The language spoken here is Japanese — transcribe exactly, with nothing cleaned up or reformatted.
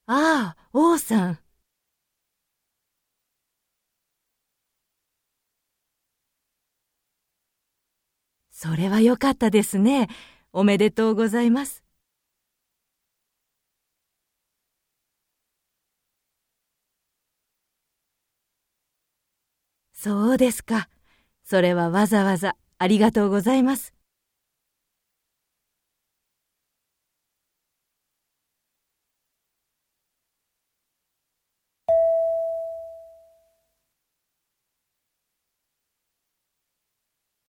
ああ、王さん。それはよかったですね。おめでとうございます。そうですか。それはわざわざありがとうございます。